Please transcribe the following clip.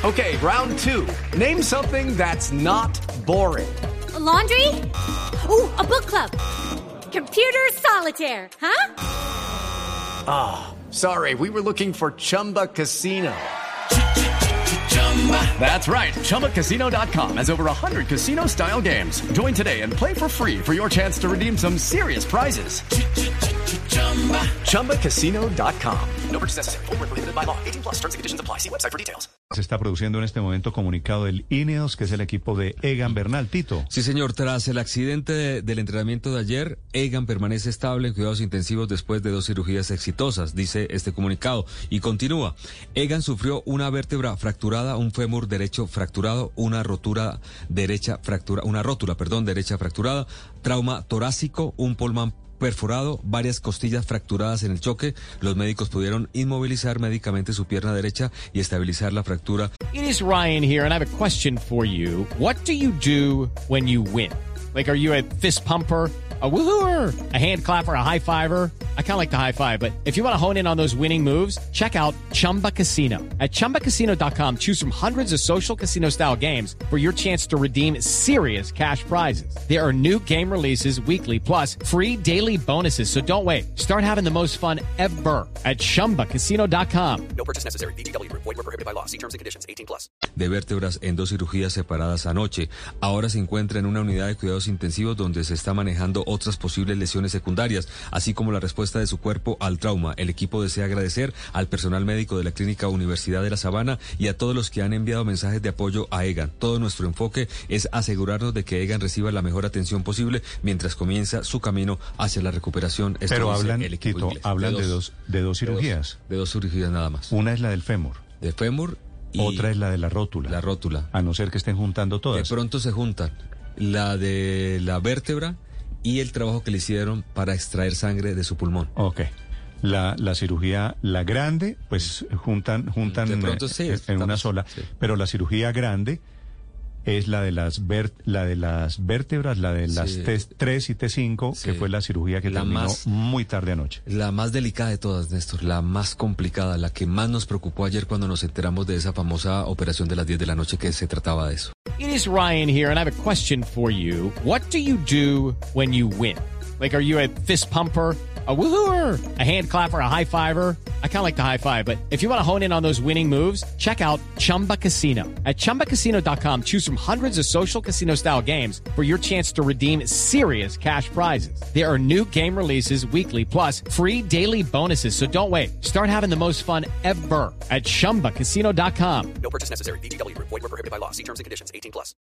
Okay, round two. Name something that's not boring. A laundry? Ooh, a book club. Computer solitaire, huh? Ah, sorry, we were looking for Chumba Casino. That's right. ChumbaCasino.com has over 100 casino-style games. Join today and play for free for your chance to redeem some serious prizes. ChumbaCasino.com. No purchase necessary. Void where prohibited by law. 18 plus. Terms and conditions apply. See website for details. Se está produciendo en este momento comunicado del INEOS, que es el equipo de Egan Bernal. Tito. Sí, señor. Tras el accidente del entrenamiento de ayer, Egan permanece estable en cuidados intensivos después de 2 cirugías exitosas, dice este comunicado. Y continúa. Egan sufrió una vértebra fracturada, un fémur derecho fracturado, una rótula derecha fracturada, trauma torácico, un pulmón perforado, varias costillas fracturadas en el choque. Los médicos pudieron inmovilizar médicamente su pierna derecha y estabilizar la fractura. It is Ryan here, and I have a question for you. What do you do when you win? Like, are you a fist pumper, a woohooer, a hand clapper, a high fiver? I kind of like the high five, but if you want to hone in on those winning moves, check out Chumba Casino. At ChumbaCasino.com, choose from hundreds of social casino-style games for your chance to redeem serious cash prizes. There are new game releases weekly, plus free daily bonuses, so don't wait. Start having the most fun ever at ChumbaCasino.com. No purchase necessary. VGW Group. Void where prohibited by law. See terms and conditions. 18 plus. De vértebras en 2 cirugías separadas anoche. Ahora se encuentra en una unidad de cuidados intensivos donde se está manejando otras posibles lesiones secundarias, así como la respuesta de su cuerpo al trauma. El equipo desea agradecer al personal médico de la Clínica Universidad de La Sabana y a todos los que han enviado mensajes de apoyo a Egan. Todo nuestro enfoque es asegurarnos de que Egan reciba la mejor atención posible mientras comienza su camino hacia la recuperación. Pero hablan, Tito, hablan de dos cirugías. De dos cirugías nada más. Una es la del fémur. De fémur. Y otra es la de la rótula. La rótula. A no ser que estén juntando todas. De pronto se juntan la de la vértebra y el trabajo que le hicieron para extraer sangre de su pulmón. Ok. La cirugía, la grande, pues juntan de pronto, sí, en una sola. Sí. Pero la cirugía grande es la de las vértebras, la de las sí. T3 y T5, sí. Que fue la cirugía que terminó muy tarde anoche. La más delicada de todas, Néstor, la más complicada, la que más nos preocupó ayer cuando nos enteramos de esa famosa operación de las 10 de la noche que se trataba de eso. It is Ryan here, and I have a question for you. What do you do when you win? Like, are you a fist pumper, a woohooer, a hand clapper, a high fiver? I kind of like the high five, but if you want to hone in on those winning moves, check out Chumba Casino. At ChumbaCasino.com, choose from hundreds of social casino-style games for your chance to redeem serious cash prizes. There are new game releases weekly, plus free daily bonuses, so don't wait. Start having the most fun ever at ChumbaCasino.com. No purchase necessary. VGW Group. Void where prohibited by law. See terms and conditions. 18 plus.